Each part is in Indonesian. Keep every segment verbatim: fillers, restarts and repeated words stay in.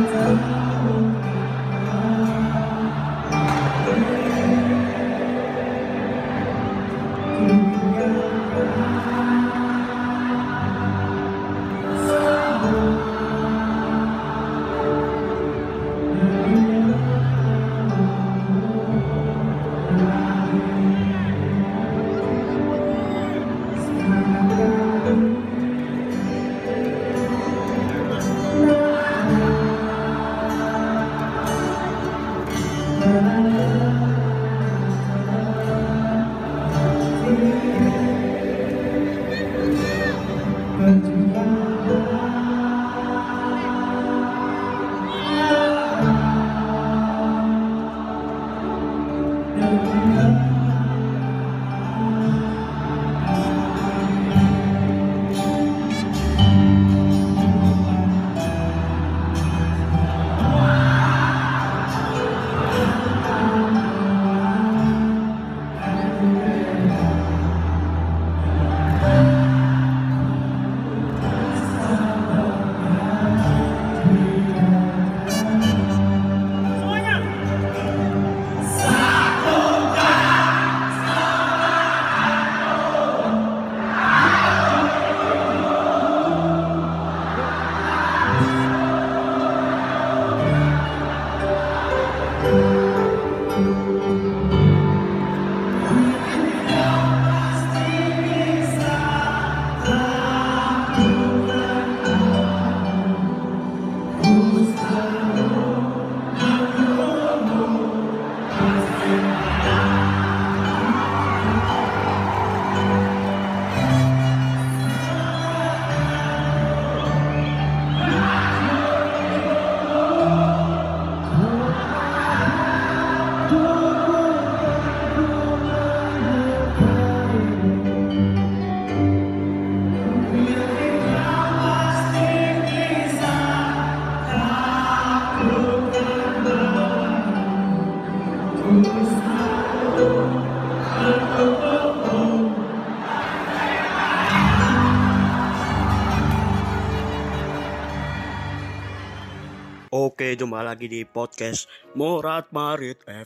Oke, jumpa lagi di podcast Morat Marit F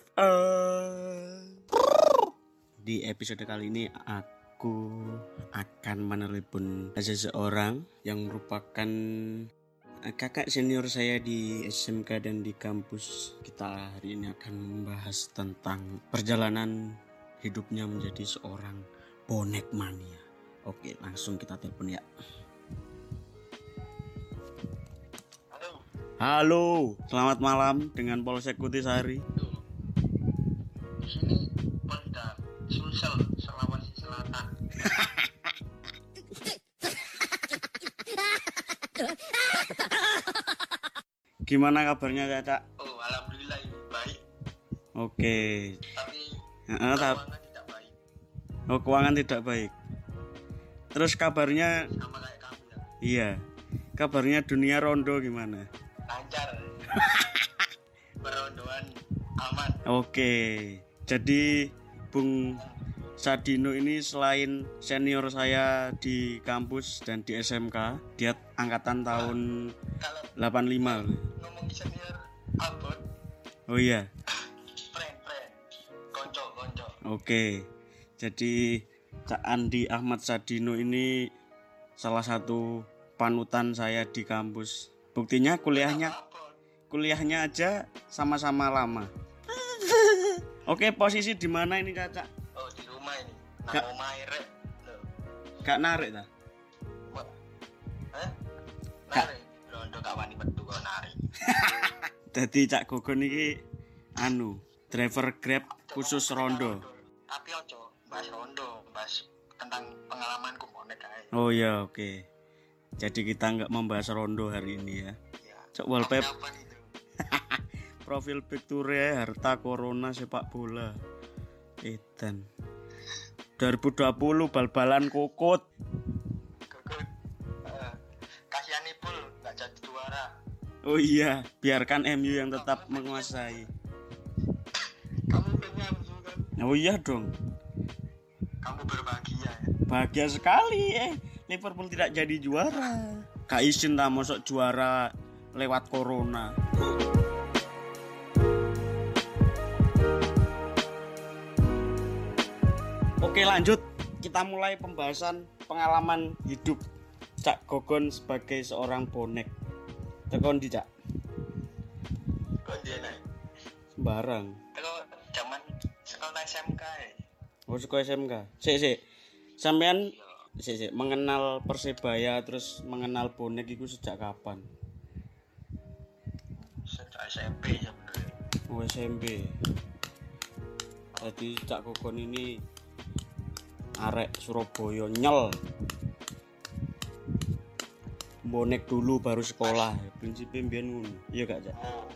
M. Di episode kali ini aku akan menelepon seseorang yang merupakan kakak senior saya di S M K dan di kampus. Kita hari ini akan membahas tentang perjalanan hidupnya menjadi seorang bonek mania. Oke, langsung kita telepon ya. Halo, selamat malam dengan Polsek Kutisari. Di sini Polda Sulsel, Sulawesi Selatan. Gimana kabarnya, Caca? Oh, alhamdulillah baik. Oke. Tapi uh, keuangan ta- tidak baik. Oh, keuangan tidak baik. Terus kabarnya? Sama kayak kamu ya. Iya. Kabarnya dunia rondo gimana? Lancar. Perondoan aman. Oke. Jadi Bung Sadino ini selain senior saya di kampus dan di S M K, dia angkatan tahun Kalau delapan puluh lima. ngomong senior abot. Oh iya. Friend, friend. Konco, konco. Oke. Jadi Cak Andi Ahmad Sadino ini salah satu panutan saya di kampus. Buktinya kuliahnya kuliahnya aja sama-sama lama. Oke, posisi di mana ini, Caca? Oh, di rumah ini. Gak- Nang omahe rek. Loh. Gak narik ta? Hah? Gak. Nari. Rondo gak wani metu kok nari. Dadi Cak Gogon iki anu, driver Grab khusus rondo. Tapi ojo bahas rondo, bahas tentang pengalamanku bonek ae. Oh ya, oke. Jadi kita nggak membahas rondo hari ini ya. Ya. Cok wallpaper, Kapan itu? profil picture, harta corona sepak bola. Edan. dua ribu dua puluh bal-balan kokot. Gugut. Uh, kasihan Ipul nggak jadi juara. Oh iya, biarkan M U yang tetap menguasai. Kamu pengen juga. Oh iya dong. Kamu berbahagia ya. Bahagia sekali eh Liverpool tidak jadi juara. Kak Isin lah mosok juara lewat corona. Oke, lanjut. Kita mulai pembahasan pengalaman hidup Cak Gogon sebagai seorang bonek. Tekon di Cak. Kok dia naik? Sembarang. Kalau zaman sekolah S M K ya. Oh, sekolah S M K. Sik, sik. Sampean sik, sik mengenal Persebaya terus mengenal bonek itu sejak kapan? Sejak S M P sebenarnya. Oh, S M P. Jadi Cak Gogon ini arek Surabaya nyel. Bonek dulu baru sekolah. Prinsipnya mbiyen ngono. Iya gak, Cak? Oh.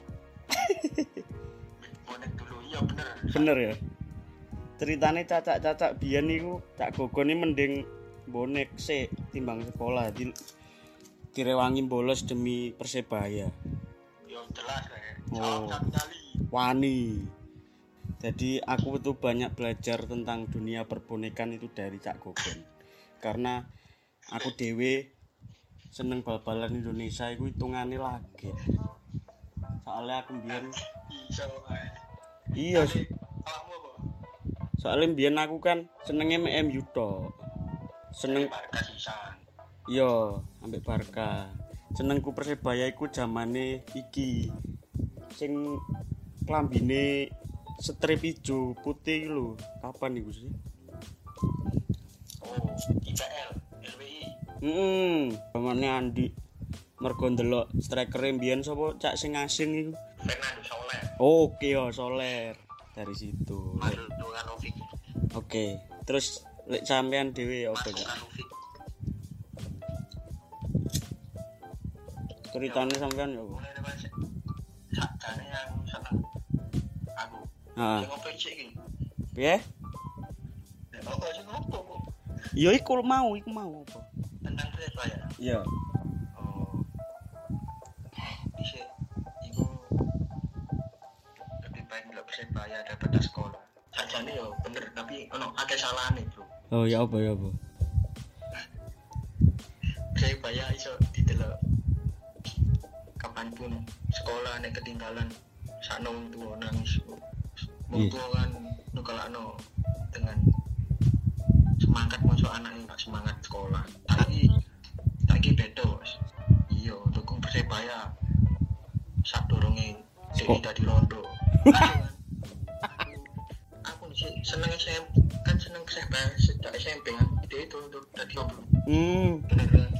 Bonek dulu, iya bener. Bener ya. Ceritane cacak-cacak biyen niku Cak Gogon ini mending bonek sik timbang sekolah. Di direwangi bolos demi Persebaya. Yo jelas kayak. Oh. Satu kali. Wani. Jadi aku tuh banyak belajar tentang dunia perbonekan itu dari Cak Gogon. Karena aku dewe seneng bal-balan Indonesia itu hitungane lagi. Soalnya aku mbiyen Iso ae. iya Tapi, awakmu apa? soalnya mbiyen aku kan senenge M U tok. Seneng Barca sisan. iya ambek Barca. Senengku Persebaya iku zamane iki. Sing klambine strip ijo putih lho. Kapan iku sih? Oh, I P L, L W I. Heeh, zamane Andi. Mergo ndelok striker mbiyen sapa Cak sing asing iku. Fernando Soler. Oke yo Soler. Dari situ. Mario Luganovic. Oke, terus lek sampean dhewe apa, Cak? Luganovic. Ceritane sampean yo. Mulai dari mana? Sakjane yang seneng. Aku. Heeh. Sing opo sik iki? Piye? Nek opo sing opo? Ya iku mau, iku mau apa? Tentang Persebaya. Iya. Oh. Bisa iku lebih baik ndelok Persebaya daripada sekolah. Sakjane yo bener, tapi ono akeh salahane, Bro. Oh ya apa ya apa? Persebaya iso didelok kapanpun sekolah nek ketinggalan sakno wong tuwa nangis. Wong Iya. tuwa kan nukalakno dengan semangat masuk anaknya gak semangat sekolah. Tapi saiki beda, Bos. Iya, dukung Persebaya. Sak durunge Kok? dhewe dadi rondo. Aku aku sih seneng S M P, kan seneng Persebaya sejak S M P kan. Dhewe itu untuk dadi rondo. Hmm, Bener.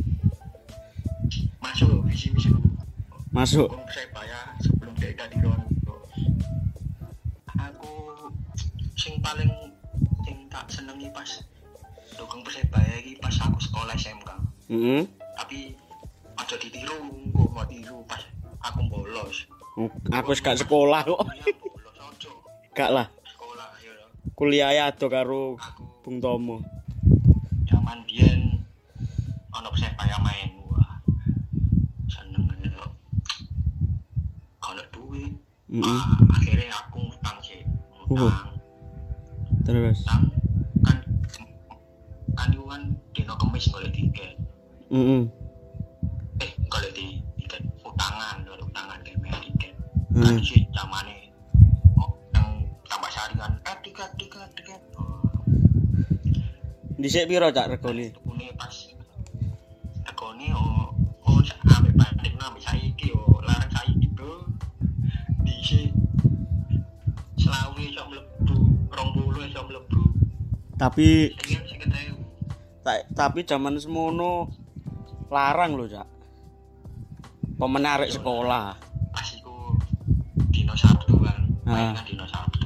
Masuk visi-misi masuk. dukung Persebaya sebelum dia dadi rondo. Aku sing paling sing tak senengi pas dukung Persebaya iki pas aku sekolah S M K. Heeh. Tapi aja ditiru, kok mau tiru pas aku bolos. Aku wis gak sekolah kok. Kuliah bolos aja. Gak lah. Sekolah ya. Kuliah ya ado karo Aku Bung Tomo. zaman biyen ono Persebaya main. Wah. Seneng kok. Ono duit. Heeh. Ah, akhirnya aku ngutang sih. Ngutang. Terus. Ngutang kan kan itu kan dino kemis golek tiket. Heeh. Eh golek di tiket utangan, golek utangan kayak bayar tiket. Hmm. Kan sih zamane oh, yang tambah sehari kan eh tiket tiket tiket. Oh, Dhisik piro Cak regane? tukune pas regane oh oh sampe banding nang saiki oh larang saiki bro. Dhisik selawe iso mlebu, rong puluh iso mlebu. Tapi Iki sing ketemu. ta- tapi zaman semono larang lho Cak. Pemenarek sekolah. Pas iku dino Sabtu kan, Ah. main kan dino Sabtu.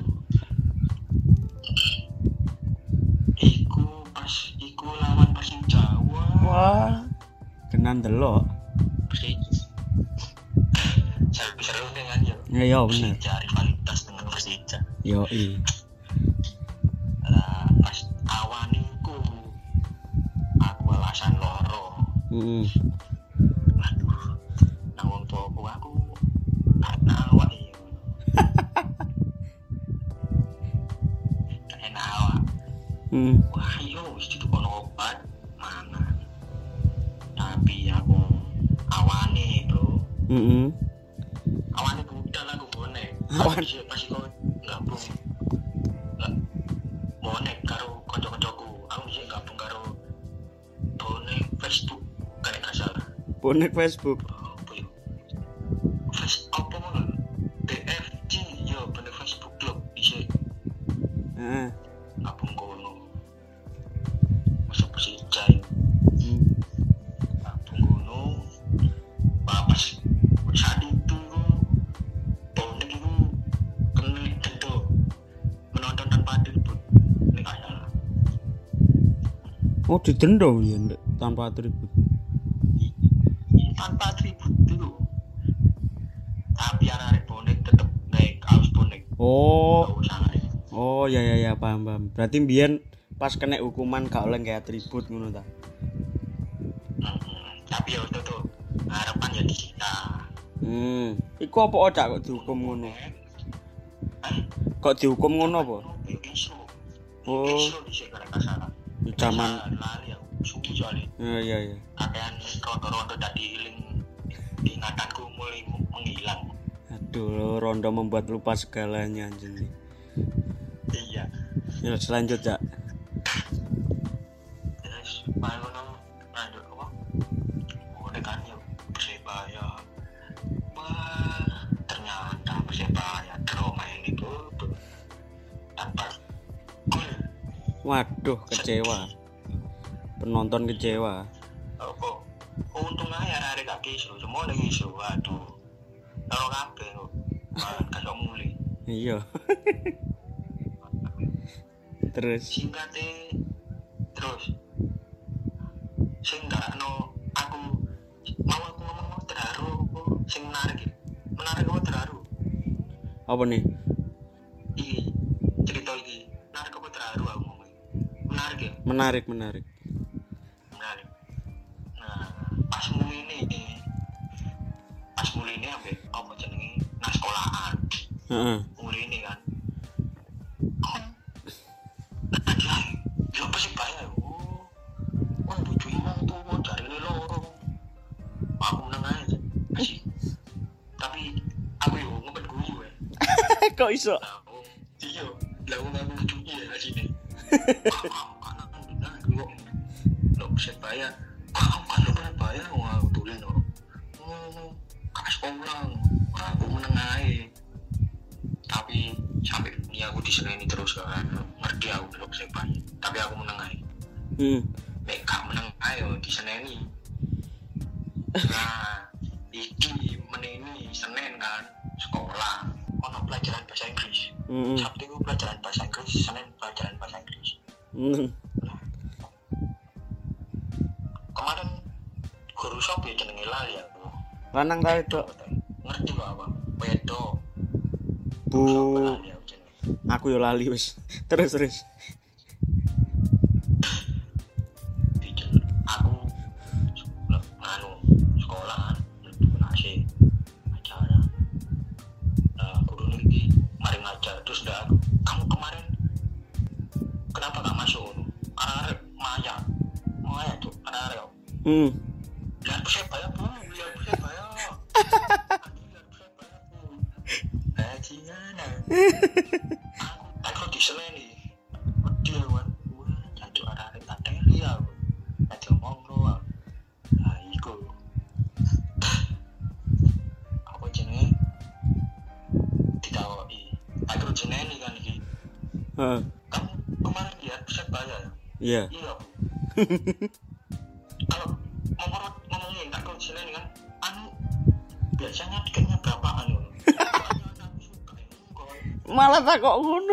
Iku pas iku lawan Persija. Wah, kenan delok. Persija. Seru-seru nih kan ya. Ya ya bener. Persija rivalitas dengan Persija. Yo i. Lah pas awan iku aku alasan loro. Heeh. Aduh. Nang wong tuaku aku karena awak iki. Karena awak. Heeh. Wah iya wis ditukono obat mana. Tapi aku awane bro Heeh. Awane budal aku bonek. Awan. Pas iku gabung. Lah bonek karo kanca-kancaku. Aku sih gabung karo bonek Facebook kayak gak salah. Bonek Facebook. Apa ya? Face apa ngono? B F G yo bonek Facebook club isi. Heeh. Gabung kono. Masuk persijai. Hmm. Gabung kono. Pas saat itu bonek itu kena denda menonton tanpa atribut ini gak salah. Oh, didenda ya Ndek, tanpa atribut. Tanpa atribut dulu tapi anak bonek tetep naik kaos bonek. Oh. Gak usah naik. Oh, ya ya ya paham paham. Berarti mbiyen pas kena hukuman gak oleh nggae atribut ngono ta. Hmm, tapi ya itu tuh harapan ya disita. Hmm. Iku apa odak kok dihukum ngono? Eh Kok dihukum ngono apa? isu Oh. isu di sini gak salah. Di zaman lali aku suwi soalnya ya ya ya. akan rondo-rondo tadi hiling ingatanku mulai menghilang. Aduh, rondo membuat lupa segalanya anjing. Iya. Ya selanjut, Cak. Terus main kono lanjut apa? Udah kan yuk Persebaya. Wah, ternyata Persebaya draw main itu tanpa gol. Waduh, kecewa. Penonton kecewa. Apa? Untung aja hari kaki isu, semua lagi isu. Waduh, taruh kabeh kok. Malah kasih mulai. Iya. Terus Singkatnya terus sing gak no aku mau aku ngomong mau terharu sing menarik ya. Menarik apa terharu? apa nih? Iki cerita iki menarik apa terharu aku ngomong. Menarik ya? Menarik, menarik. Menarik. Nah, pas mulai ini pas mulai ini ambek apa jenenge nang sekolahan. Heeh. Mulai ini kan. Anjay, yo apa sih bayar? Oh, wah bojo imang tuh mau cari loro. Aku menang aja, asik. Tapi aku yo ngepet guyu ya. Kok iso? Lah, oh, iya, lah aku ngaku bojonya ya sini. Kamu kan benar kok. Lo bisa bayar. Kamu kan lo pernah bayar wah tulen lo. Oh, kas sekolah. Aku menang aja. Tapi sampai ini aku diseneni terus kan ngerti aku belum bisa bayar tapi aku menang aja. Hmm. Nek gak menang ayo diseneni. Nah iki meneni Senin kan sekolah ono pelajaran bahasa Inggris. Hmm. Sabtu itu pelajaran bahasa Inggris, Senin pelajaran bahasa Inggris. Hmm. Kemarin guru sop ya jenenge lali aku. Lanang ta itu? Ngerti kok apa? Wedo. Bu. Lali aku jenenge. Aku yo lali wis. Terus terus. Bikin aku nganu sekolahan nasi acara. Nah, guru ini mari ngajar terus udah kamu kemarin kenapa gak masuk? Arek maya, maya tuh arek. Hmm. Lihat Persebaya bu, lihat Persebaya. Lihat Persebaya bu. Bajingan. Aku aku diseleni. Dia wan, wah jancuk arek tak ya. Aja ngomong doang. Nah, iku. Apa jenenge? Ditawoki. Aku jenenge kan iki. Heeh. Kamu kemarin lihat Persebaya ya? Iya. Iya. Kalau ngomong ngomongin tak kau jenenge kan, anu biasanya tiketnya berapaan loh? Malah tak kok ngono.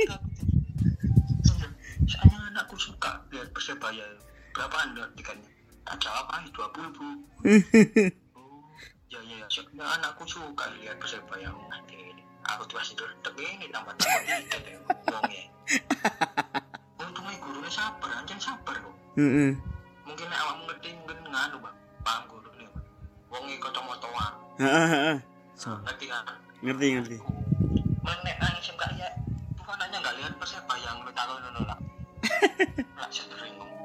Soalnya anakku suka lihat Persebaya. Berapaan lihat tiketnya? Tak jawab aja dua puluh bu. Oh, ya ya ya. Soalnya anakku suka lihat Persebaya. Nanti ini aku tuh masih duduk ini tambah tambah tiket ya. Ngomongnya. Untungnya gurunya sabar, anjing sabar kok. Heeh. Mungkin awakmu ngerti mungkin nganu bang, paham gurune. Wonge kacamata-an. Heeh, heeh. Ngerti kan? Ngerti, ngerti. Menek nangis enggak ya? Bukan hanya enggak lihat Persebaya yang lu tahu ngono lah. Lah sering ngomong.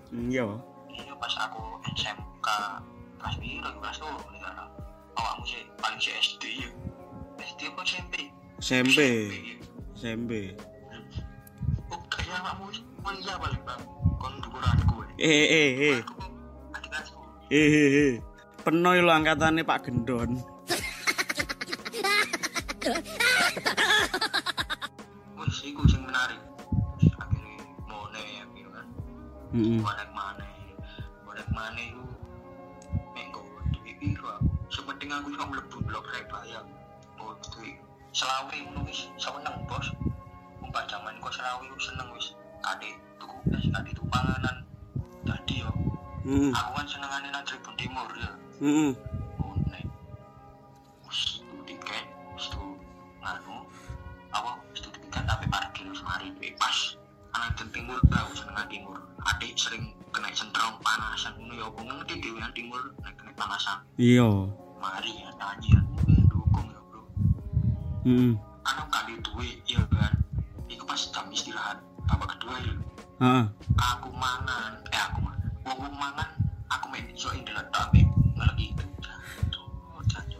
Iya. Iya pas aku S M K kelas piro kelas tuh nih kan. Awakmu sih paling sih S D ya. S D apa S M P? S M P. S M P. Oh kayaknya awakmu kuliah paling bang. Kon dukuranku. Eh eh eh. Adik kelasku. Eh eh eh. Penoy lo angkatannya Pak Gendon. Wis iku sing menarik. Akhirnya mone ya gitu kan. Heeh. Bonek maneh. Bonek maneh iku nek go duwe piro. Sepenting aku iso mlebu blok Rebaya. Oh duwe selawe ngono wis seneng bos. Umpah jaman kok selawe seneng wis. Ade tuku es, ade tuku panganan. Dadi yo. Heeh. Aku kan senengane nang Tribun Timur ya. Heeh. Oh nek wis tuku tiket, wis tuku nganu apa wis tuku tiket tapi parkir wis mari pas ana den timur aku seneng timur. Adik sering kena sentrong panasan ngono ya apa ngerti dhewe nang timur nek kena panasan. Iya. Mari ya tanjian dukung ya bro. Heeh. Anu kali duwe ya kan. Iku pas jam istirahat babak kedua ya. Heeh. Aku mangan, eh aku mangan. Wong mangan aku main iso ndelok tok ambek ngeleki itu. Oh, jancuk.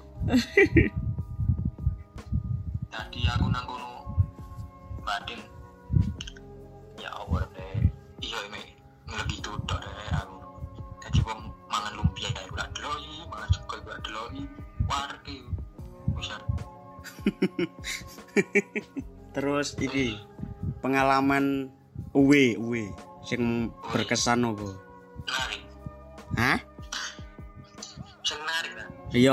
Tadi aku nang kono baden. Ya Allah deh. Iya me ngeleki itu tok deh aku. Dadi wong mangan lumpia kae ora deloki, mangan sego ora deloki. Warke. Wis. Terus iki pengalaman uwe uwe sing berkesan apa? Menarik. Hah? Sing menarik kan? Iya.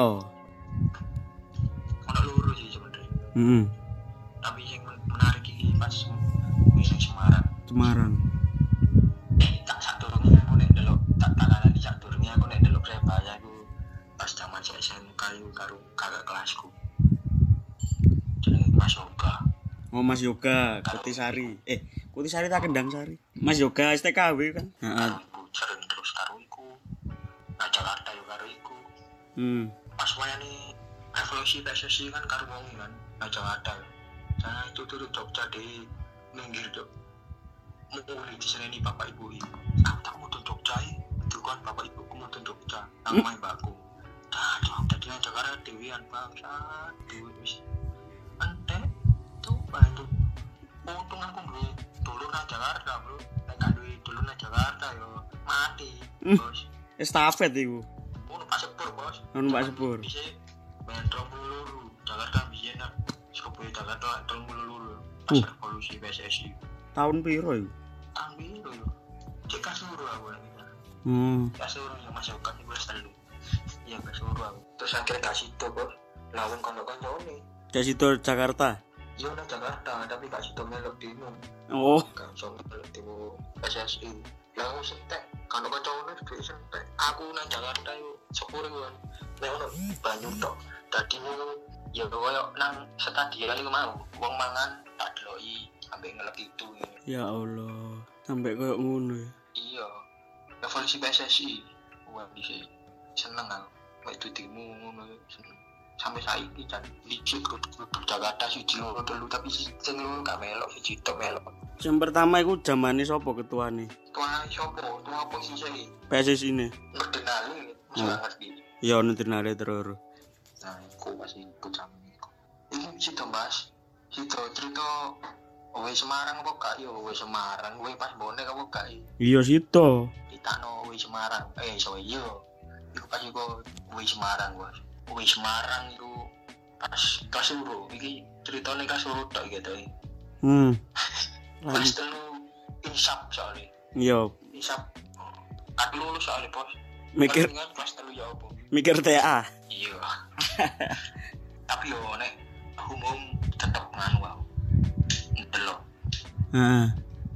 Ono loro sih sebenarnya. Heeh. Tapi yang menarik iki pas kuwi sing Semarang. Semarang. Tak sadurunge aku nek delok tak takalani sadurunge aku nek delok Rebaya iku pas zaman S M K iku karo kakak kelasku. Jenenge Mas Yoga. Oh Mas Yoga, Kutisari. Eh, Kutisari tak Kendang Sari. Mas Yoga S T K W kan? Heeh. Aku sering terus karo iku. Nah Jakarta yo karo iku. Hmm. Pas wayane revolusi P S S I kan karo wong kan. Nah Jakarta. Saya itu turut Jogja di minggir Jog. Mulai diseneni bapak ibu ini. Aku tak mau Jogja itu kan bapak ibu ku mau Jogja. Nang main baku. Dah, tadi nang Jakarta dewian bangsa. Dewi wis. Ente tuh bantu. Untung aku duwe dulu nang Jakarta, Bro. Nek gak duwe dulu nang Jakarta yo mati, Bos. Estafet iku. Ono Pak Sepur, Bos. Ono Pak Sepur. Bisa Metro Muluru, Jakarta bisa nak. Surabaya Jakarta Metro Muluru. Pas revolusi P S S I. Tahun piro iku? Tahun piro yo? Cek kasuru aku lagi. Hmm. Kasuru yang masuk kan iku wis telu. Iya kasuru aku. Terus akhirnya kasih to, Bos. Lawang kono-konone. Dari situ Jakarta. Iya nang Jakarta, tapi gak situ melok demo. Oh. Kan so melok demo P S S I. Lah wis entek, kan koncone dhuwit entek. Aku nang Jakarta yo sepur kan. Nek ono banyu tok. Dadi yo koyo nang stadion iku mau, wong mangan tak deloki ambek ngelek itu. Ya Allah, sampai koyo ngono ya. Iya. Revolusi P S S I. Wah, dhisik seneng aku. Mek demo ngono seneng. Sampai saiki jan licik grup Jakarta siji loro telu tapi sing loro gak melok siji tok melok. Yang pertama iku zamane sapa ketuane? Tuan sopo, tuan posisi iki. P S S I ne. Ngerdenali, mesti ngerti. Ya ono tenare terus. Nah, iku masih ikut sama iku. Iki situ Mas. Situ cerita Owe Semarang apa gak yo Owe Semarang, Owe pas bonek apa gak iki? Iya situ. Ditano Owe Semarang. Eh, so iyo. Iku pas iku Owe Semarang, Bos. Owe Semarang itu pas Kasuru. Iki ceritane Kasuru tok iki to. Hmm. Pas telu insap soalnya. Iya, Insap. Kat lulus soalnya, Bos. mikir Kan kelas telu ya apa? mikir T A. Iya. Tapi yo nek umum tetep nganu wae. Ndelok. Heeh.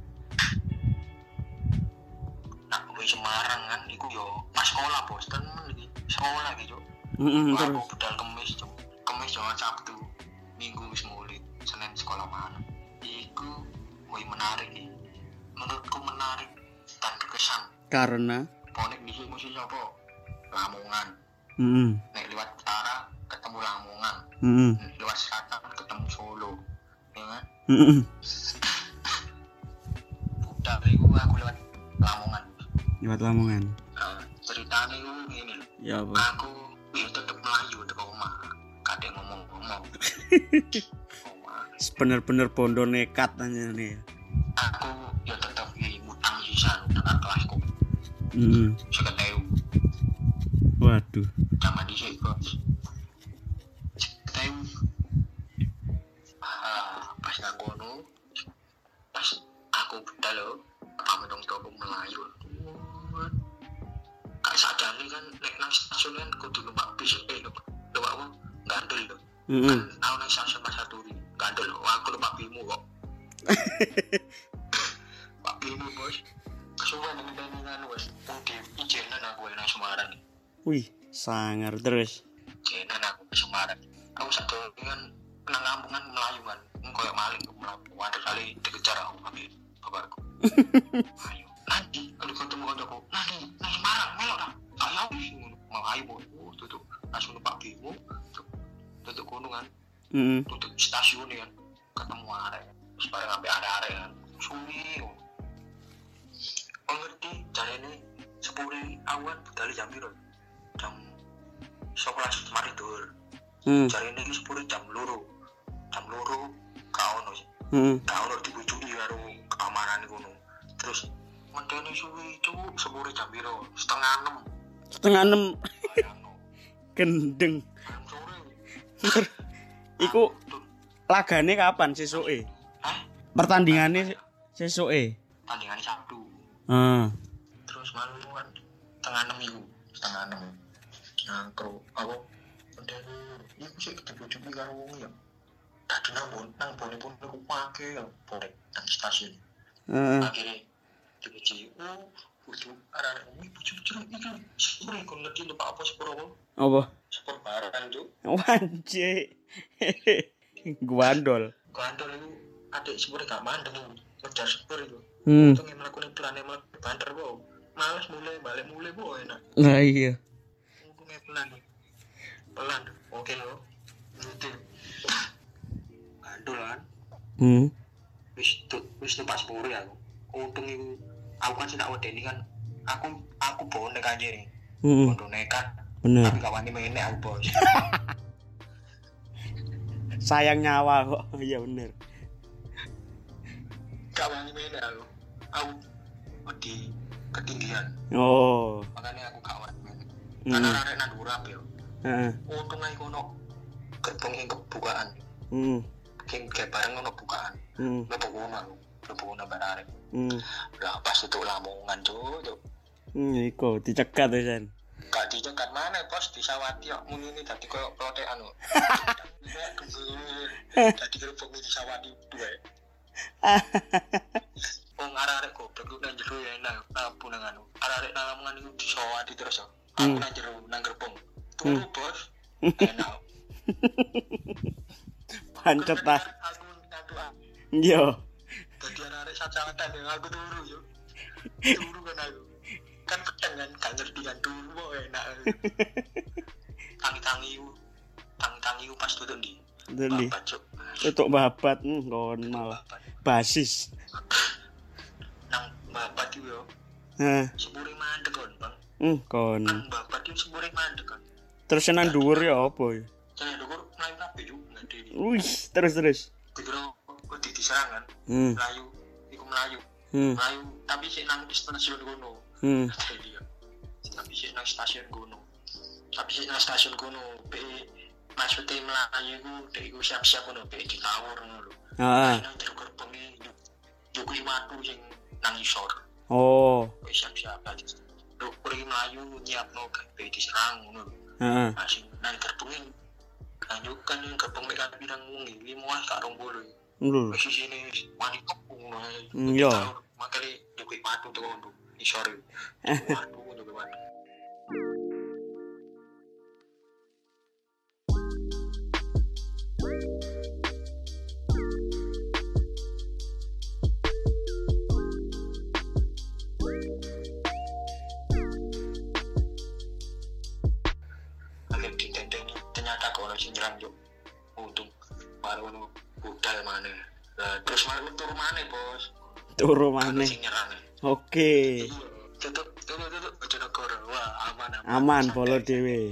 Nak kowe Semarang kan iku yo pas sekolah Bos tenan iki. Sekolah iki, Cuk. Heeh, Aku terus. budal Kamis, Cuk. Kamis jangan Sabtu. Minggu wis mulai. Senin sekolah mana. Iku woi menarik iki. Menurutku menarik dan berkesan. Karena Bonek di sini mesti apa? Lamongan. heeh. Nek lewat utara ketemu Lamongan. Heeh. Lewat selatan ketemu Solo. Ya kan? Heeh. Budal iku aku lewat Lamongan. Lewat Lamongan. Nah, ceritanya itu gini loh. Ya apa? Aku ya tetep melayu di rumah. Kadang ngomong-ngomong. Omah. Bener-bener bondo nekat aja nih. Aku ya tetep ya, ngutang sisan dengan kelasku. Hmm. Seketeu. Waduh. Zaman dhisik, Bos. Seketeu. Ah, pas nang kono. Pas aku budal lho, pamenung toko Melayu. Gak sadar nih kan nek nang stasiun kan kudu numpak bis eh numpak numpak apa? Gandel lho. Heeh. Kan aku nang stasiun Pasar Turi. Gandel lho, aku numpak bimu kok. Pak bimu, Bos. Kesuwen ngenteni kan wis di ijenan aku nang Semarang. Wih, sangar terus. Ijenan aku ke Semarang. Aku sadar kan nang kampungan Melayu kan. Koyo maling Melayu. Waduh kali dikejar aku ambil kabarku. Ayo, nanti kalau ketemu kancaku, nanti nang Semarang melok ta. Ayo wis ngono. Melayu oh, tutup langsung numpak bimu. Tutup kono kan. Heeh. Tutup stasiun kan. Ketemu arek. Terus bareng ambek arek-arek kan. Suwi. Oh ngerti, jarene sepuluh awan budal jam piro? Jam sebelas mari dur. Hmm. Jarene iki sepuluh jam loro. Jam loro ka ono sih. Hmm. Ka ono dibujuki karo keamanan kono. Terus ngenteni suwi cuk sepuluh jam piro? Setengah enam. Setengah enam Bayangno. gendeng. Jam sore. Iku lagane kapan sesuke? Hah? Pertandingane sesuke. Tandingannya Sabtu. Ah. Terus malu kan setengah enam iku, setengah enam. Nah, kro apa? Ngenteni iku sik dibujuki karo wong ya. Tadi nang bon, nang bone pun aku pake ya, boleh nang stasiun. Heeh. Akhirnya dibuji, oh, butuh arah-arah ini bujuk-bujuk ini kan sebenernya kalau ngerti lupa apa sepur apa Apa? sepur barang itu Wanje. Guandol. gandol itu adik sepurnya gak mandeng ngejar sepur itu Hmm. itu yang melakukan pelan yang melakukan banter po males mulai balik mulai po enak Nah iya. ngomongnya pelan pelan oke lo ngerti gandol kan Hmm. wis tuh wis numpak sepur ya aku untung itu aku kan tidak wedeni kan aku aku bonek aja nih Heeh. bodoh nekat Bener. tapi gak wani menek aku bos Sayang nyawa kok. Iya bener. gak wani menek aku aku di ketinggian Oh. makanya aku gak wani menek Hmm. karena arek nang dhuwur ape yo Heeh. untung ae kono gerbong yang kebukaan Hmm. sing kayak bareng ono bukaan Hmm. mlebu kono aku mlebu kono bareng Hmm. lah pas itu Lamongan tuh tuh Hmm, iku dicegat ya, San. gak dicegat mana bos disawati kok muni ini tadi koyo plotekan kok tadi gerbong ini disawati dua wong arek-arek goblok ku nang jero ya enak apa nang anu arek-arek nang Lamongan iku disawati terus yo aku Hmm. nang jero nang gerbong turu bos enak Pancet ta. aku nyatu Yo. jadi arek sacatan yang aku turu yo turu kan aku kan pedang kan gak ngerti kan turu kok enak tangi-tangi ku tangi-tangi ku pas tutup di Ndi? babat cuk Tutuk babat hmm, kon malah babat basis. nang babat itu yo Hah. sepure mandek kon bang Hmm, kon. nang babat itu sepure mandek kan Terus nang dhuwur ya apa ya? saya dhuwur mlayu kabeh yo ngerti Wih, terus terus. dikira wedi diserang kan Hmm. melayu iku melayu Hmm. melayu tapi sik nang stasiun kono Hmm. jadi ya tapi sik nang stasiun kono tapi sik nang stasiun kono pe maksudnya melayu iku dek iku siap-siap kono pe ditawur ngono lho Ah. nang jero gerbenge njukuki watu sing nang isor Oh. pe siap-siap tadi lho pergi melayu nyiapno pe diserang ngono lho Heeh. masih nang gerbenge lanjutkan yang gerbong mereka bilang ngi lima kak rong bolu Lho. wis sini wani kepung ngono Hmm, yo. makanya njukuki watu to ngono isor watu njukuki watu akhir ditenteng ternyata kalau sing nyerang yo untung baru nu budal mana nah, terus malu turu mana bos Turu mana maneh. sing nyerang Oke. tetep tuh Aman polo dhewe.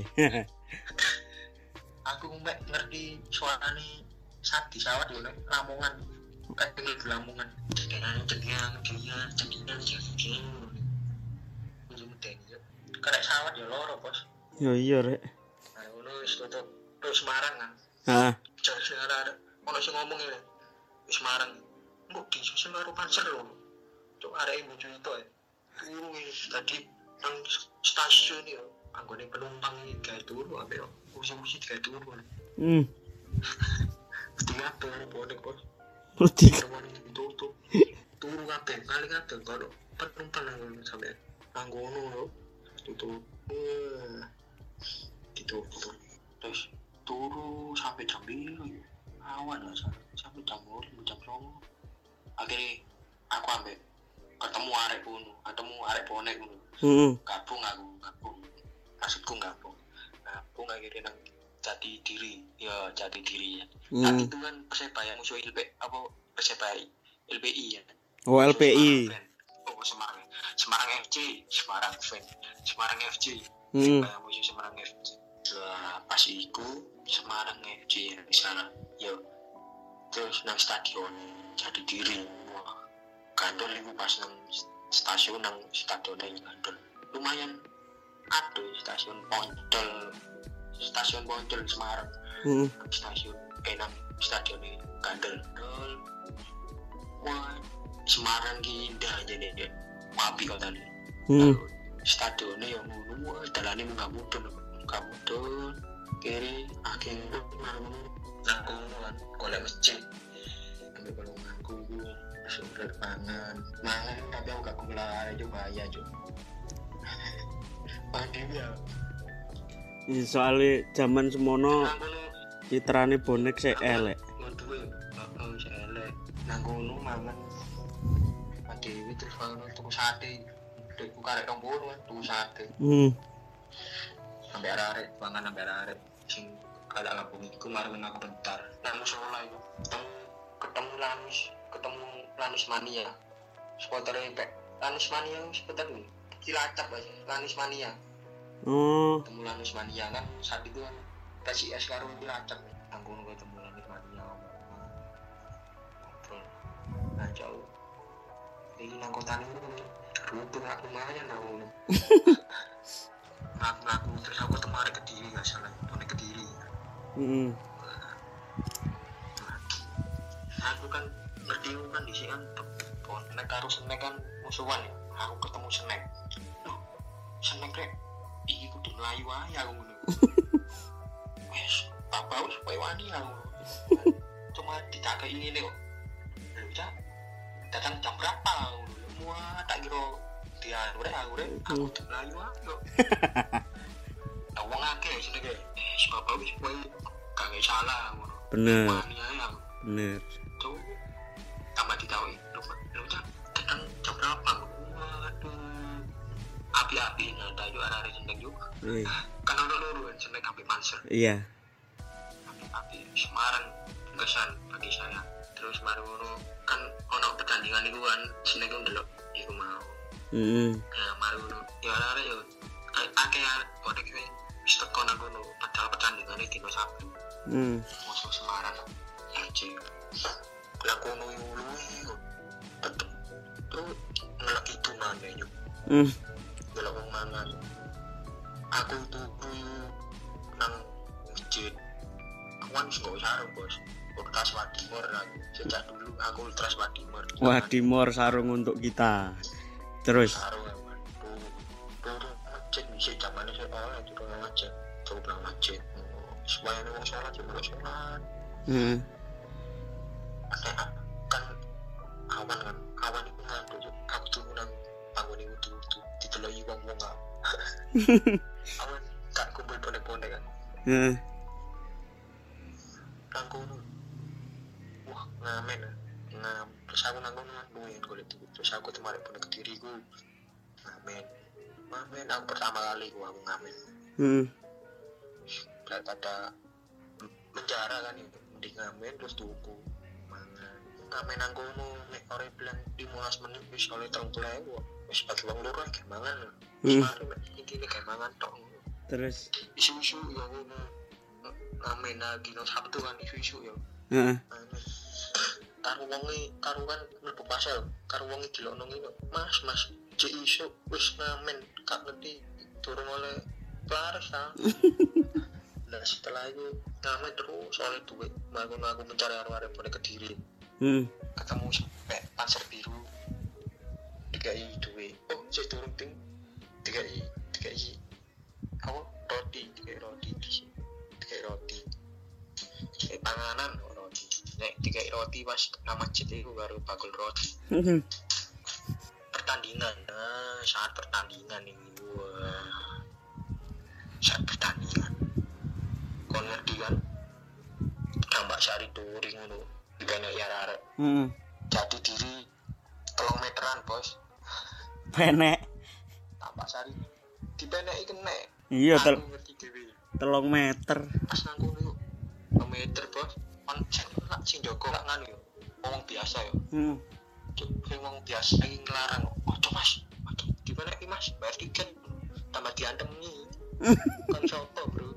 Aku mek ngerti suarane sadi sawat yo nek Lamongan. Kan iki Lamongan. Jenengan jenengan jenengan jenengan jenengan. Kudu meten yo. Karek sawat yo loro, Bos. Yo iya rek. Nah, ngono wis tutup terus Semarang kan. Heeh. Jar sing ada ono sing ngomong ngene. Wis Semarang. Mbok disusul karo panser lho. Cuk areke bojo itu ya. Turu wis tadi nang stasiun yo. Anggone penumpang iki gawe turu ambek kursi-kursi gawe turu. Hmm. Tiga tuh bonek bos. Mesti Tutup. Turu kabeh, kali kabeh kalau penumpang nang sampe nang ngono lho. Tutup. Eh. Ditutup. Terus turu sampai jam biru. Awan lah sampai jam dua jam dua. Akhirnya aku ambek ketemu arek kono, ketemu arek bonek ngono. Heeh. Gabung aku, gabung. Maksudku gabung. Gabung akhirnya nang Jati Diri, ya Jati Diri ya. Hmm. Saat itu kan Persebaya musuh L P apa Persebaya L P I ya. Oh L P I. Oh Semarang. Semarang F C, Semarang fan. Semarang F C. Hmm. Persebaya musuh Semarang F C. Lah pas iku Semarang F C di sana. Yo. Terus nang stadion Jati Diri. Wah. Gandol iku pas nang stasiun nang stadion nang Gandol. Lumayan aduh stasiun Poncol. Stasiun Poncol di Semarang. Heeh. Stasiun enam stadion ini Gandol. Wah, Semarang ki indah jane ya. Wapi kotane. Heeh. Stadione yo ngono, dalane munggah mudhun, munggah mudhun. Kiri akhirnya nang kono kan golek masjid. Ambil golonganku sumber pangan. Mangan tapi aku gak kula coba ya, Cuk. Pandemi ya. Ya, soalnya zaman semono Nang kono citrane bonek sik elek. ngeduwe, heeh, sik elek. Nang kono mangan. Adewe terus mangan tuku sate. Dekku karek rong puluh kan tuku sate. Hmm. Sampai arek mangan sampai arek sing kada kampung iku marang aku bentar. Nang musola iku ketemu ketemu Lanus, ketemu Lanus Mania. Supportere Pek. Lanus Mania sebentar nih. Cilacap aja, Lanus Mania. Oh. Ketemu Lanus Mania kan saat itu kan P S I S karo Cilacap. Anggun gue ketemu Lanus Mania. Ngobrol. Nah jauh. Ini nang kota ini runtuh lah lumayan aku. Ngaku-ngaku terus aku ketemu arek Kediri gak salah, bonek Kediri. Heeh. Aku kan ngerti kan di sini kan bonek karo Snack kan musuhan ya. Aku ketemu Snack. Loh, Snack rek iki kudu mlayu wae aku ngono. Wes, tak bau supaya wani aku. Cuma ditakai ngene kok. Lho, Cak. Datang jam berapa? Semua tak kira dia rek aku rek aku kudu mlayu wae kok. Lah wong akeh sini ge. Eh, sebab wis kowe gak salah ngono. Bener. Wani ae aku. Bener. Tuh tambah ditahui lu lu cak datang jam berapa? Waduh api-api nada itu arah-arah Sendeng juga Eh. kan ada luru kan Sendeng sampai Manser Iya. api-api Semarang kesan bagi saya terus Maruno kan ono pertandingan itu kan Sendeng itu delok di rumah Heeh. nah Maruno ya arah-arah ya akhirnya bonek itu seteko nagono padahal pertandingan itu dino Sabtu Hmm. musuh Semarang F C laku nuyului tetep tuh ngelak itu mana yuk Hmm. ngelak mangan aku tuh nang masjid aku kan suka sarung bos ultras Wadimor aku sejak dulu aku ultras Wadimor Wadimor sarung untuk kita. Terus. sarung aku tuh tuh masjid bisa zamannya saya oleh tuh nang masjid tuh nang masjid supaya nang sholat juga sholat Heeh. ada kan awan kan awan itu ngandung aku tuh nang bangun itu tuh tuh diteloi wong wong nggak awan kan kumpul bonek-bonek kan Heeh. nangku wah ngamen ngam terus aku nangku nungguin gue itu terus aku kemarin bonek Kediri gue ngamen ngamen aku pertama kali gue aku ngamen Heeh. daripada penjara kan itu mending ngamen terus tuku mangan ngamen nang kono nek ora bilang lima belas menit wis oleh terong tulewu wis bagi wong loro kayak mangan. Hmm. Mari mek iki kayak mangan tok. Terus Isu-isu ya ngono. Ngamen lagi no Sabtu kan isu-isu ya. heeh. Karo wonge karo kan mlebu pasar, karo wonge dilokno ngene. Mas, Mas, cek isu wis ngamen gak ngerti durung oleh laris ta. Nah setelah itu ngamen terus oleh duit, aku aku mencari arwah-arwah boleh Kediri. Hmm. Ketemu sampai Panser Biru dikai duit. Oh, saya turun ting dikai dikai apa roti, dikai roti dikai roti dikai panganan roti. Nek dikai roti pas nama masjid itu baru bakul roti. Pertandingan, nah saat pertandingan ini wah saat pertandingan kon ngerti kan tambah sari touring ngono dikene ya arek. Heeh. Jadi diri telung meteran bos. Penek. Tambah sari dipeneki kena. Iya tel Aku ngerti dhewe. telung meter. Pas nang kono telung meter bos. Kon cek lak sing jaga lak nganu yo. Wong biasa yo. Heeh. Cuk sing wong biasa iki nglarang. Ojo Mas. Ojo dipeneki Mas. Bayar tiket. Tambah diantem iki. Kan sopo, Bro?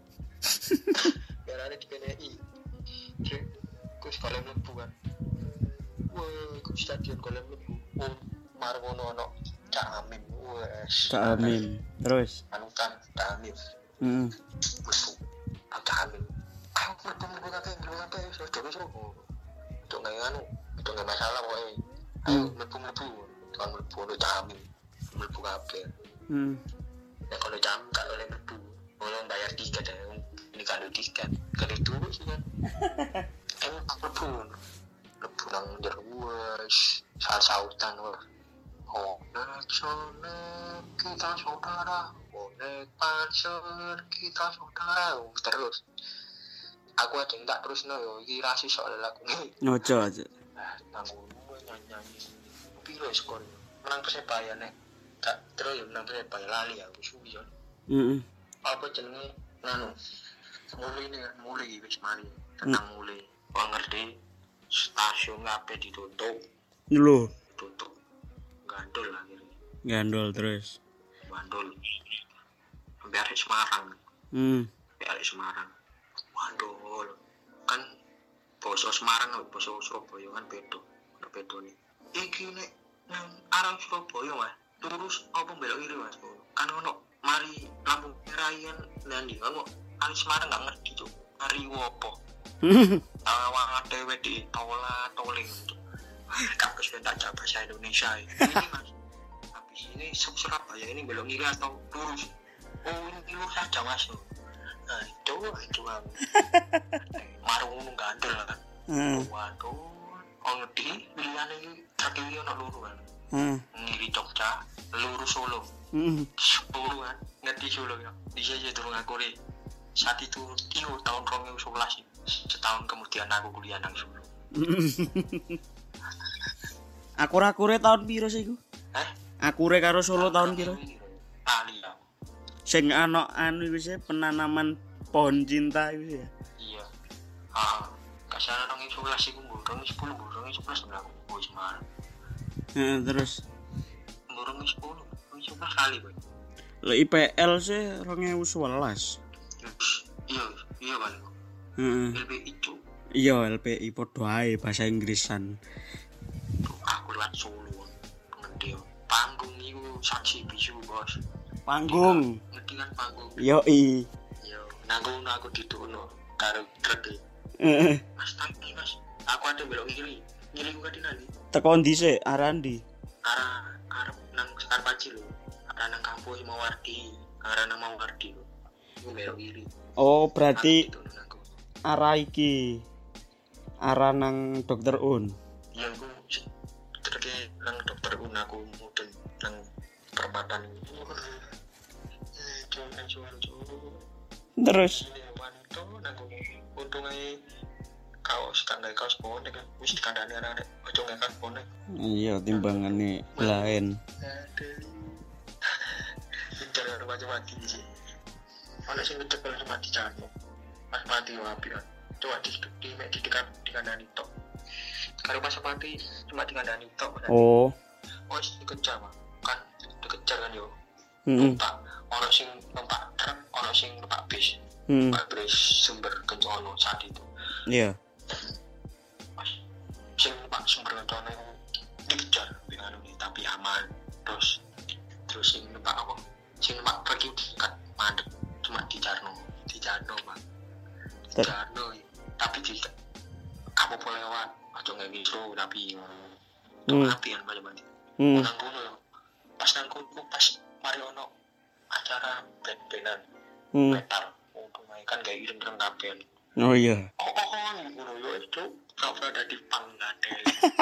Biar ada dipeneki. Cek kus kalem mlebu kan. Wah, iku stadion kalem mlebu. Oh, marwono ono Cak Amin. Wes. Cak Amin. Terus Anutan Cak Amin. heeh. Mlebu. Cak Amin. Aku mlebu mlebu kabeh, mlebu kabeh wis terus terus. Untuk nggak anu, untuk nggak masalah pokoke. Ayo mlebu mlebu. Kan mlebu ono Cak Amin. Mlebu kabeh. Hmm. Ya kalau jam gak boleh mlebu. Boleh bayar tiket ya. Ini kalau tiket. Kalau dulu sih kan. Emang mlebu. Mlebu nang njero wes saut-sautan wes. Oh, nek sana kita saudara. Oh, nek panser kita saudara. Oh, terus. Aku aja enggak terus no yo. Iki rasi soal lagu ini. Ojo aja. Ah, tanggung gue nyanyi. Piro skor. Menang Persebaya nek. Gak terus yo menang Persebaya lali aku suwi yo. Heeh. Apa jenenge nganu. Mulai ini kan mulai wis mari. Tenang mulai. Wong ngerti stasiun kabeh ditutup. Lho, Tutup. Gandul akhirnya. gandol terus. Gandul. Biar Semarang. Hmm. Biar Semarang. Gandul. Kan basa Semarang karo basa Surabaya kan beda. Ono bedone. Iki nek nang arah Surabaya Mas, terus apa belok kiri Mas? Kan ono mari lampu merah kan nanti ono arah Semarang gak ngerti cuk. Mari opo? Awang dhewe di tola toling. Gak kesuwen tak jawab bahasa Indonesia ini Mas. Habis ini Surabaya ini belok kiri atau lurus? Oh, ini lurus saja Mas. Nah, itu itu kan. Marung gandul kan. Heeh. Waduh, oh ngerti pilihan ini terkiri ono luru kan. Heeh. Ngiri Jogja, luru Solo. Heeh. Solo kan, ngerti Solo ya. Di sini turun aku deh. Saat itu iyo tahun dua ribu sebelas setahun kemudian aku kuliah nang Solo. Akur-akure tahun piro sih iku? Eh? Akure karo Solo tahun piro? Kali ya. Sing ana anu iku sih penanaman pohon cinta iku ya. Iya. Ah, kasar nang sebelas iku burung sepuluh burung sebelas aku wis Semarang. Heeh, terus Burung sepuluh, sebelas kali, Boy. lek I P L sih dua ribu sebelas. Iya, iya balik. Heeh. L P I itu Iya, L P I padha ae bahasa Inggrisan. aku lewat Solo ngerti yo. Panggung iku saksi bisu bos. Panggung. Ngerti kan panggung? Yoi. Yo, nanggung aku dituno karo truk. Heeh. Mas tangki Mas. Aku ada belok kiri. Kiri ku kadine nanti. Teko ndi sih? Arah ndi? Arah arep nang Skarpaci lho. Arah nang kampus Mawardi. Arah nang Mawardi lho. Aku belok kiri. Oh, berarti Aku dituno nang aku. arah iki. Arah nang Dokter Un. Iya aku terke nang dokter Un aku mudeng nang perempatan ini. Eh, cuman cuman cuman. Terus Ini wanita nang untung ae kaos kan gawe kaos bonek kan wis dikandani arek ojo gawe kaos bonek. iya timbangane lain. Aduh. Pinter karo mati sih. Ana sing ngecepel mati jane. Pas mati wapi kan. Coba di di di di kandani tok. Karo pas mati cuma di kandani tok. Oh, Wis dikejar, Mas. dikejar kan yo. Heeh. Numpak ono sing numpak truk, ono sing numpak bis. Hmm. Numpak bis sumber kencono saat itu. Iya. Sing numpak sumber kencono dikejar dengan ini tapi aman. Terus terus sing numpak apa? Sing numpak pergi dekat mandek cuma di Jarno, di Jarno Pak. Di Jarno. Tapi di apa boleh lewat aja nggak gitu tapi Hmm. apian macam-macam. Hmm. Nang kono pas nang kono pas mari ono acara band-bandan Hmm. metal untuk kan gak ireng-ireng kabeh. Oh iya. Oh oh oh ngono yo itu ora dadi panggate.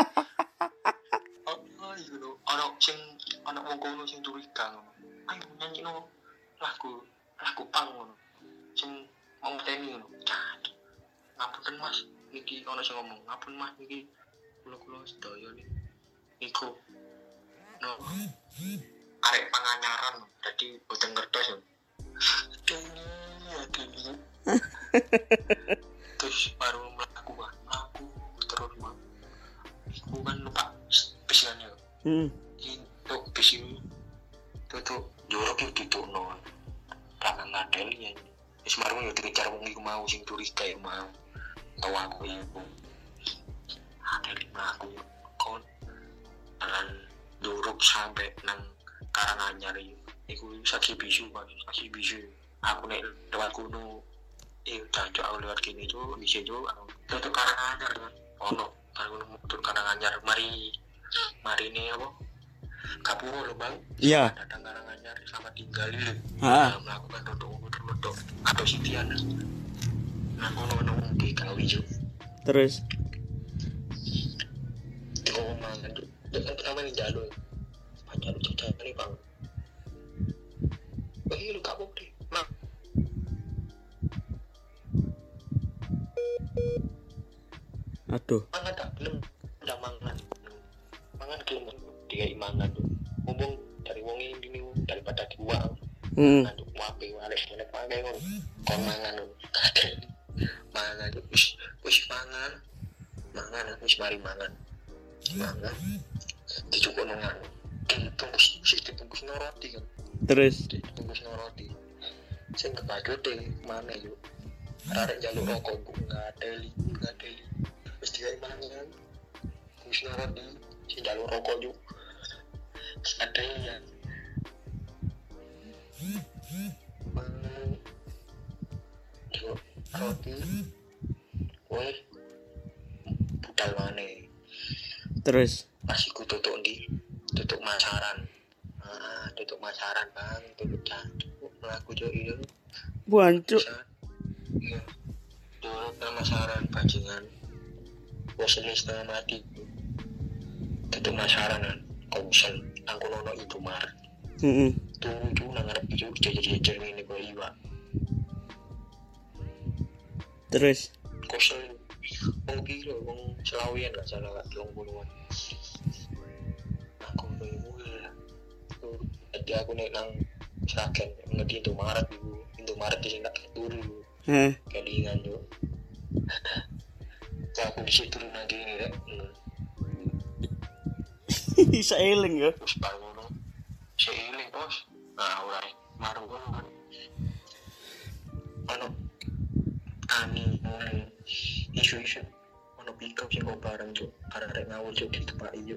Oh oh ngono ono sing ono wong kono sing curiga ngono. Ayo nyanyino lagu lagu pang ngono. Sing mau teni ngono. Ngapunten Mas, niki ono sing ngomong, ngapun Mas niki kula-kula sedaya niki. Iku no arek panganyaran dadi boten ngertos yo. Kene ya kene. Terus baru melaku melaku terus mah. Iku kan numpak bis kan yo. Hmm. Itu bis ini tuh jorok itu tuh no. Karena ngadel ya. Wis baru yo dikejar wong iku mau sing curiga yo mau. Tahu aku iku. Ada lima aku kon jalan duruk sampai nang Karanganyar iku saksi bisu Pak, saksi bisu. Aku nek lewat kuno eh jancuk aku lewat kene itu bisa jo tutup Karanganyar kan. Ono kan motor Karanganyar mari mari ini apa? Kapuro lho Bang. Iya. Datang Karanganyar sama tinggal lho. Heeh. Melakukan dodok-dodok atau sitian. Nah, ono-ono di Kawijo. Terus Oh, mangan tuh. Dengan pertama nih jalur. Pacar lu cek nih, Bang. Eh, lu gak mau deh. Nah. aduh. Mangan tak belum udah mangan. Mangan gelem dia mangan tuh. Ngomong dari wong ini daripada dibuang. Hmm. Mangan tuh wape walek walek pakai ngono. Kon mangan tuh. Kadel. Mangan tuh wis wis mangan. Mangan wis mari mangan. Mangan. Dicukup nongan. Dibungkus sih dibungkus roti kan. Terus Dibungkus roti. Sing kebadut deh mana yuk. Arek jaluk rokok bu enggak deli, enggak deli. Wis digawe mangan. Bungkus roti. Sing jaluk rokok yuk. Ada yang mangan. Yuk roti. Woi. Budal maneh. terus Masih ku tutuk ndi? Tutuk masaran. Ah, tutuk masaran Bang, tutuk jantung. Laku jo iyo. buancuk. Iya. Tutuk masaran bajingan. Wes setengah mati. Tutuk masaran kan. Konsen nang kono ono Indomaret. Heeh. Tunggu nang arep iki jejer-jejer ngene kok iwak. Terus Konsen wong piro wong selawian gak salah gak telung puluhan. Aku bingung ya. Jadi aku nek nang Sragen ngerti Indomaret iku. Indomaret sing tak turu. heh. Kelingan yo. Aku disitu turun lagi ini rek. Bisa eling ya. Terus baru ngono. Seiling bos. Nah, ora maru ngono. Ano ani isu-isu ono pick-up sing kok bareng tuh arek ngawur juk di tempat iyo.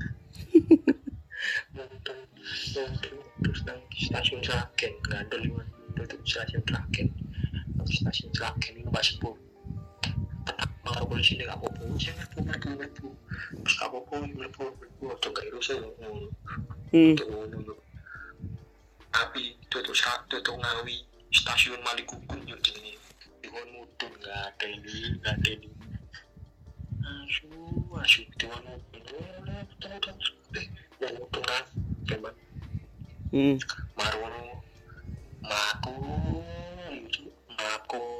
Nonton nonton terus nang stasiun Sragen ngandel liwan tutup stasiun Sragen. Stasiun Sragen ini pas sepuluh. Kalau polisi ini gak apa-apa, saya ngerti-ngerti terus gak apa-apa, ngerti-ngerti waktu gak irusin Hmm. untuk tapi tutup tutup Ngawi stasiun Malikukun yuk ini dengan mudun gak ada ini gak ada ini asu asu dengan mudun eh yang mudun kan teman Hmm. Marwono Maku Maku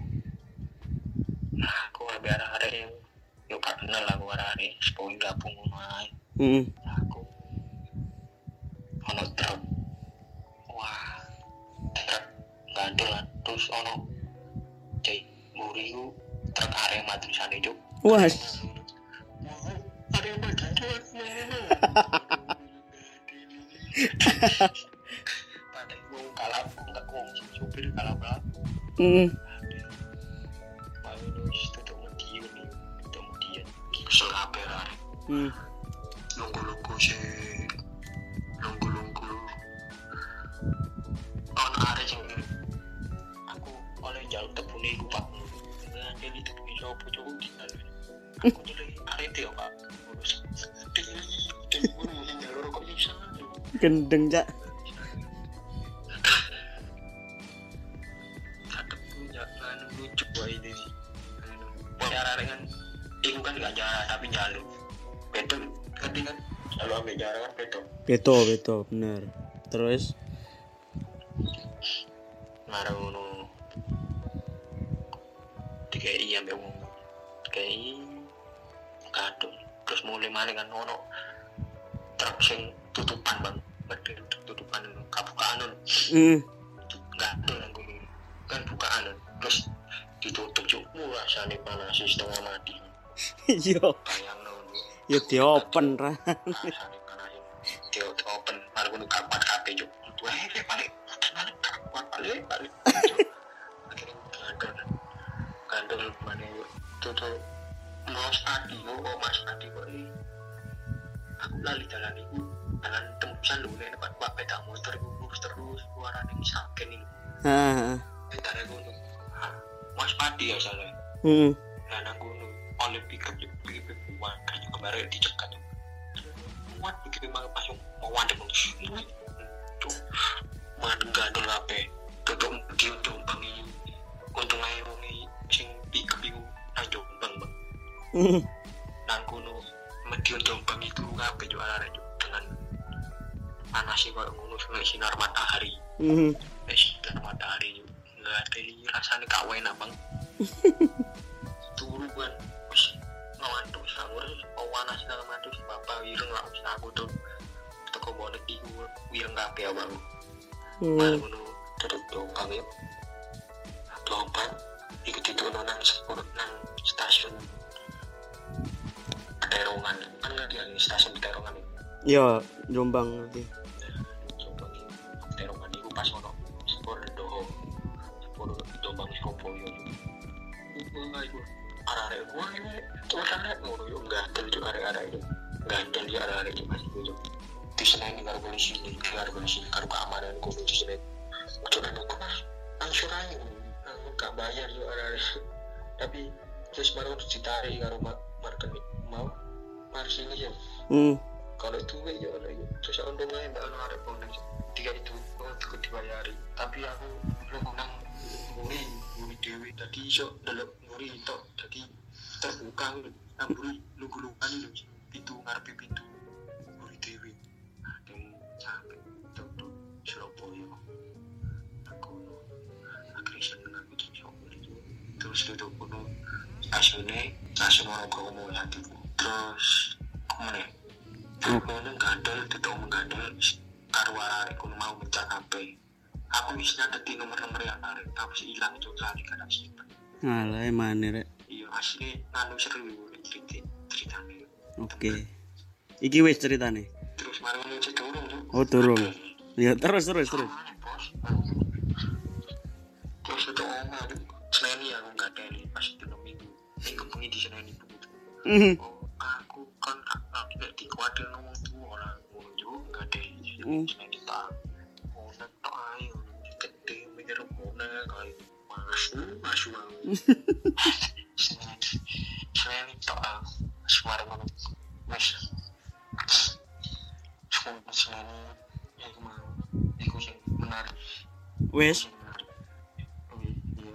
Aku ambil arah-arah yang yuk gak kenal lah aku arah-arah sepuluh gabung ngomong Hmm. aku ono truk wah truk gandelan terus ono cai muriku truk Arema tulisane cuk Was. Arema gandelan Padahal mau kalah enggak wong supir kalah berat. Heeh. Mau wis tutuk mediun nih, tutuk mediun. Kesel kabeh arek. Hmm. Lunggu-lunggu sih. Lunggu-lunggu. On arek sing aku oleh jaluk tebune iku Pak. Nah, jadi tebune sopo cukup tinggal. Aku tuh arek dia Pak. Urus. Ding urus jalur kok bisa. Gendeng, Cak. Lucu boy ini cara dengan itu kan gak jarak tapi jalur betul ngerti kan kalau ambil jarak kan betul Beto, beto, bener. Terus ngaruh tiga i ambil umum tiga i kadung terus mulai maling kan ono truk sing tutupan bang betul tutupan kabukaan heeh. nggak ada yang gue kan bukaan terus ditutup cukup rasanya panas setengah mati Yo, bayang no yo diopen ra. rasanya panas dia open malah gue nuka kuat H P cuk wah ini balik mana kuat balik balik akhirnya gandol gandol mana tuh tuh mas Adi oh mas Adi kok ini aku lali jalan itu jalan tembusan lu nih depan pak peda motor terus terus suaranya misalkan ini Heeh. Bentar aku nu, mas Padi ya salah. Heeh. Dan aku nu oleh pickup juga pickup buat kayak kemarin dicegat. Muat pickup malah pas mau wandeng terus. Tuh, mana gandol apa? Tutup dia jombang ini. Untung aja wongi sing pickup itu nang jombang bang. Heeh. Nang kuno medion jombang itu apa jualan itu dengan panasnya kalau ngono sinar matahari. Heeh. Sinar matahari juga. Nggak ada rasanya kau enak bang turu kan wis ngantuk sangur pawana segala macam bapak wireng lah usah aku tuh teko bonek iku wireng kabeh bang malah ngono terus dompang ya dompang iku dituno nang sepuluh nang stasiun Peterongan kan nggak dia stasiun Peterongan Yo, Jombang nanti. Jombang Peterongan iku pas ono sepuluh doho sepuluh Jombang Surabaya enggak itu arah-arah gua ini tuh arah ngono yo gandel yo arah-arah itu gandel yo arah-arah itu masih itu di sini ini karo polisi ini karo polisi karo keamanan gua di sini udah kan aku mas angsurannya nggak bayar yo arah-arah tapi terus baru ditarik karo marketing mau mari sini ya Hmm. kalau itu ya ada itu terus untungnya mbak anu arek bonus tiga itu aku dibayari tapi aku belum menang muri muri dewi tadi iso delok muri itu jadi terbuka namburi lugu-lugan itu pintu ngarepe pintu muri dewi dan sampai itu tuh Surabaya aku akhirnya seneng aku tuh itu terus duduk kuno stasiunnya stasiun orang kamu hati terus kemana aku ini gandol tutup menggandol karo arek kuno mau mencak H P aku bisa nyatet nomor-nomor yang arek tapi sih hilang itu kali kadang simpen Alah emane rek. iya asli nganu seru cerita ceritanya Oke. Iki wis ceritane. terus mari ngono cek durung tuh Oh, turun. Ya terus terus terus. bos terus itu omah seneni aku nggak ada ini pas itu minggu minggu bengi di seneni begitu Heeh. oh aku kan tidak dikuatir ngomong tua lah ngomong juga nggak ada Hmm. seneni tak oh netok ayo gede mikir mana kali masuk masuk seneni seneni tak semar ngono mas seneni ya mau iku sing menarik Wis. sing menarik oh iya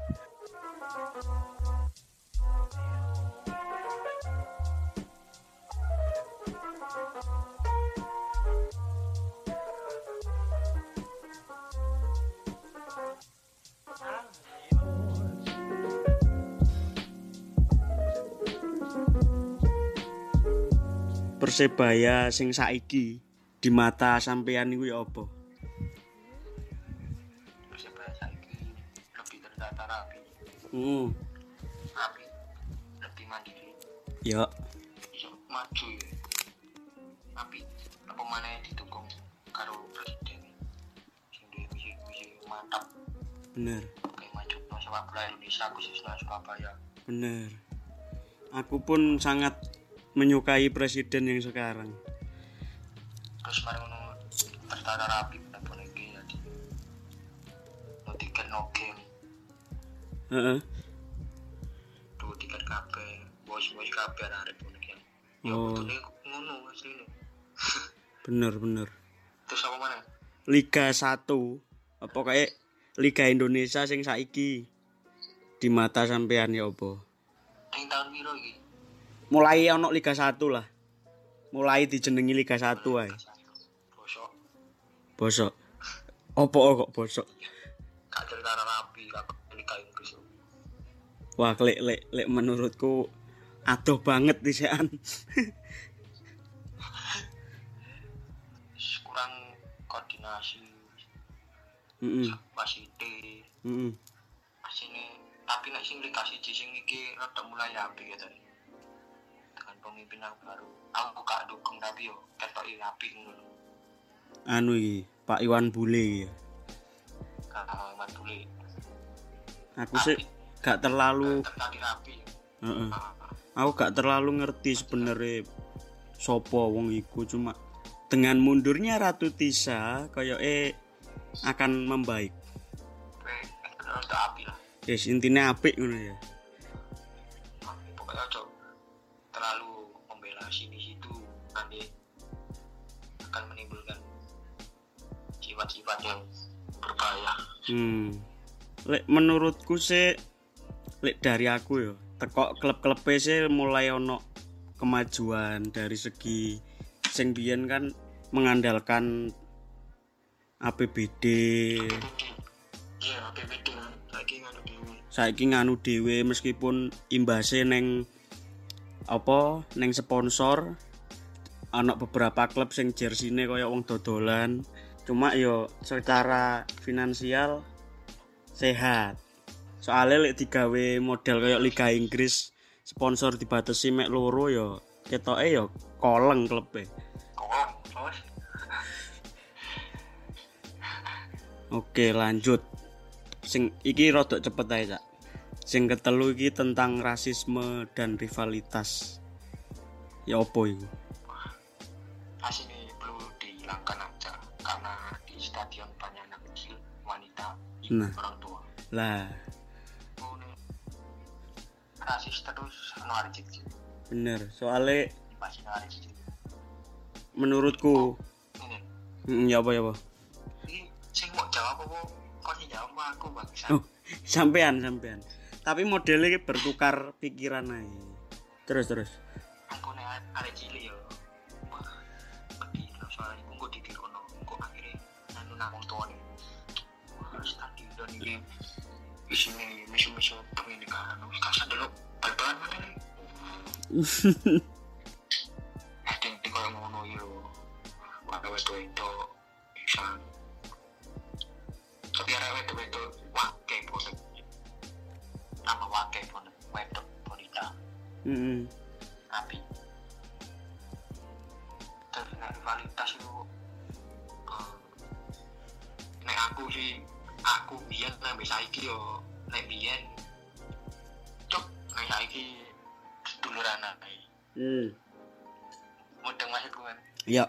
Persebaya sing saiki di mata sampean iku ya apa? Persebaya saiki lebih terdata rapi Hmm. rapi lebih mandiri Ya. iso maju ya tapi apa mana yang didukung Bener. Oke, maju sepak bola Indonesia khususnya Surabaya. Bener. Aku pun sangat menyukai presiden yang sekarang. Terus mari ngono tertata rapi pun iki ya. No tiket no game. Heeh. Tuh tiket kabeh, bos-bos kabeh arep pun iki. Ya Oh. betulnya ngono asline. Bener bener. Terus apa mana? Liga satu apa kayak Liga Indonesia sing saiki di mata sampean ya apa? Ning tahun piro iki? Mulai ono Liga satu lah. Mulai dijenengi Liga satu ae. Bosok. Bosok. Opo kok bosok? Gak tertata rapi kak Liga Inggris. Wah, lek lek lek menurutku adoh banget disian. Kurang koordinasi. Heeh. Wasite. Heeh. Asine tapi nek sing Liga siji sing iki rada mulai apik ya tadi. Dengan pemimpinan baru. Aku gak dukung tapi yo ketoki apik ngono. Anu iki, Pak Iwan Bule iki ya. Kakak Iwan Bule. Aku sih gak terlalu tertati rapi. heeh. Ah, Aku gak terlalu ngerti sebenarnya sopo wong iku, cuma dengan mundurnya Ratu Tisa koyoke akan membaik. Kowe rada apik lah. Yes, intinya apik ngono ya. Ah, pokoknya aja terlalu membela sini situ nanti akan menimbulkan sifat-sifat yang berbahaya. Hmm. Lek menurutku sih lek dari aku ya, teko klub-klub sih mulai ono kemajuan dari segi sing biyen kan mengandalkan A P B D. Iya, A P B D lagi nganu dhewe. Saiki nganu dhewe meskipun imbase neng apa neng sponsor ana beberapa klub sing jersine kaya wong dodolan, cuma yo secara finansial sehat. Soalnya lek digawe model kaya Liga Inggris sponsor dibatasi mek loro yo ketoke yo koleng klube. Oh, terus Oke, lanjut. Sing iki rada cepet ae, Cak. Sing ketelu iki tentang rasisme dan rivalitas. Ya opo iku? asine perlu dihilangkan aja karena di stadion banyak anak kecil, wanita, ibu, Nah. orang tua. Lah, Ini rasis terus anu hari cici. bener. Soale Dibahas hari cici. menurutku, Ini, mm, ya apa ya apa? ini sing mau jawab apa? Kok sing jawab sama aku bangsa. Oh, sampean sampean. Tapi modelnya iki bertukar pikiran ae. Terus terus. Aku nek arek cilik yo. Wah, pedih lho soalnya aku kok ditirono. Kok akhirnya anu nang wong tuane. Wah, stadion iki isine mesu-mesu pendidikan. Wis kasar dulu. Bal-balan mana nih? Eh, ting-ting koyo ngono yo. Wah, wedo-wedo bisa. Tapi arek wedo-wedo wake bonek. Nama wake bonek. Wedok bonita. Heeh. Tapi terus nek rivalitas itu uh, nek aku sih aku biyen nek saiki yo nek biyen cuk nek saiki seduluran ae Hmm. mudeng maksudku kan Ya,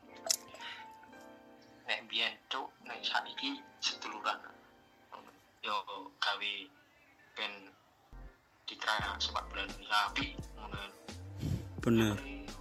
nek biyen cuk nek saiki seduluran yo gawe ben diterang sepak bola Indonesia api ngono bener.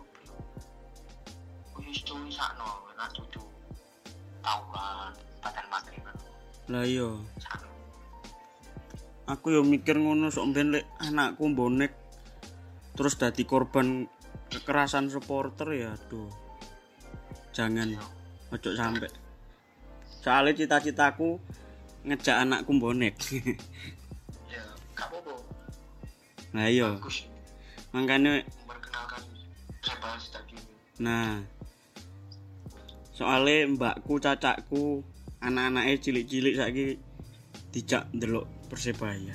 wis cuy sakno anak cucu tawuran badan materi kan Lah iya, sakno aku yo mikir ngono sok ben lek anakku bonek terus dadi korban kekerasan supporter ya aduh. Jangan ojo sampai. Soalnya cita-citaku ngejak anakku bonek. ya gak apa-apa Nah iya, bagus makanya memperkenalkan sepak stadion nah soalnya mbakku cacakku anak-anaknya cilik-cilik saiki dijak ndelok Persebaya.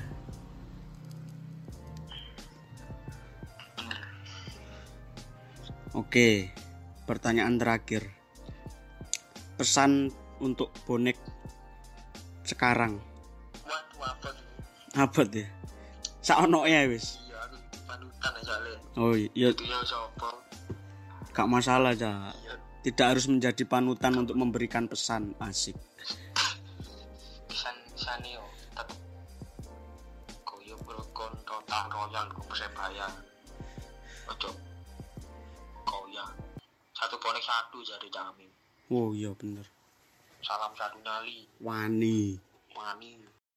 Oke, pertanyaan terakhir. Pesan untuk bonek sekarang. Apa tuh? Saonoke ya wis. Iya aku panutan aja le. Oh iya, Dia sapa? gak masalah Cak. Tidak harus menjadi panutan untuk memberikan pesan. Asik. Pisan pisane yo tetep koyo rukun total royal ku Persebaya. Ojo koya. Satu bonek satu jadi Jamim. Oh iya bener. Salam satu nyali. Wani. Wani.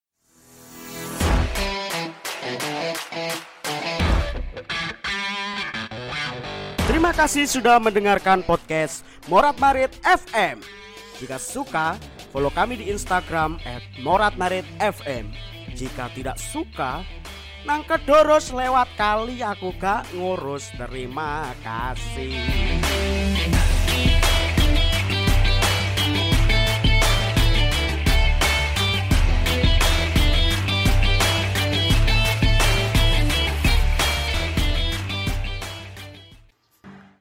Terima kasih sudah mendengarkan podcast Morat Marit F M. Jika suka, follow kami di Instagram et morat marit f m. Jika tidak suka, nang kedoros lewat kali aku gak ngurus. Terima kasih.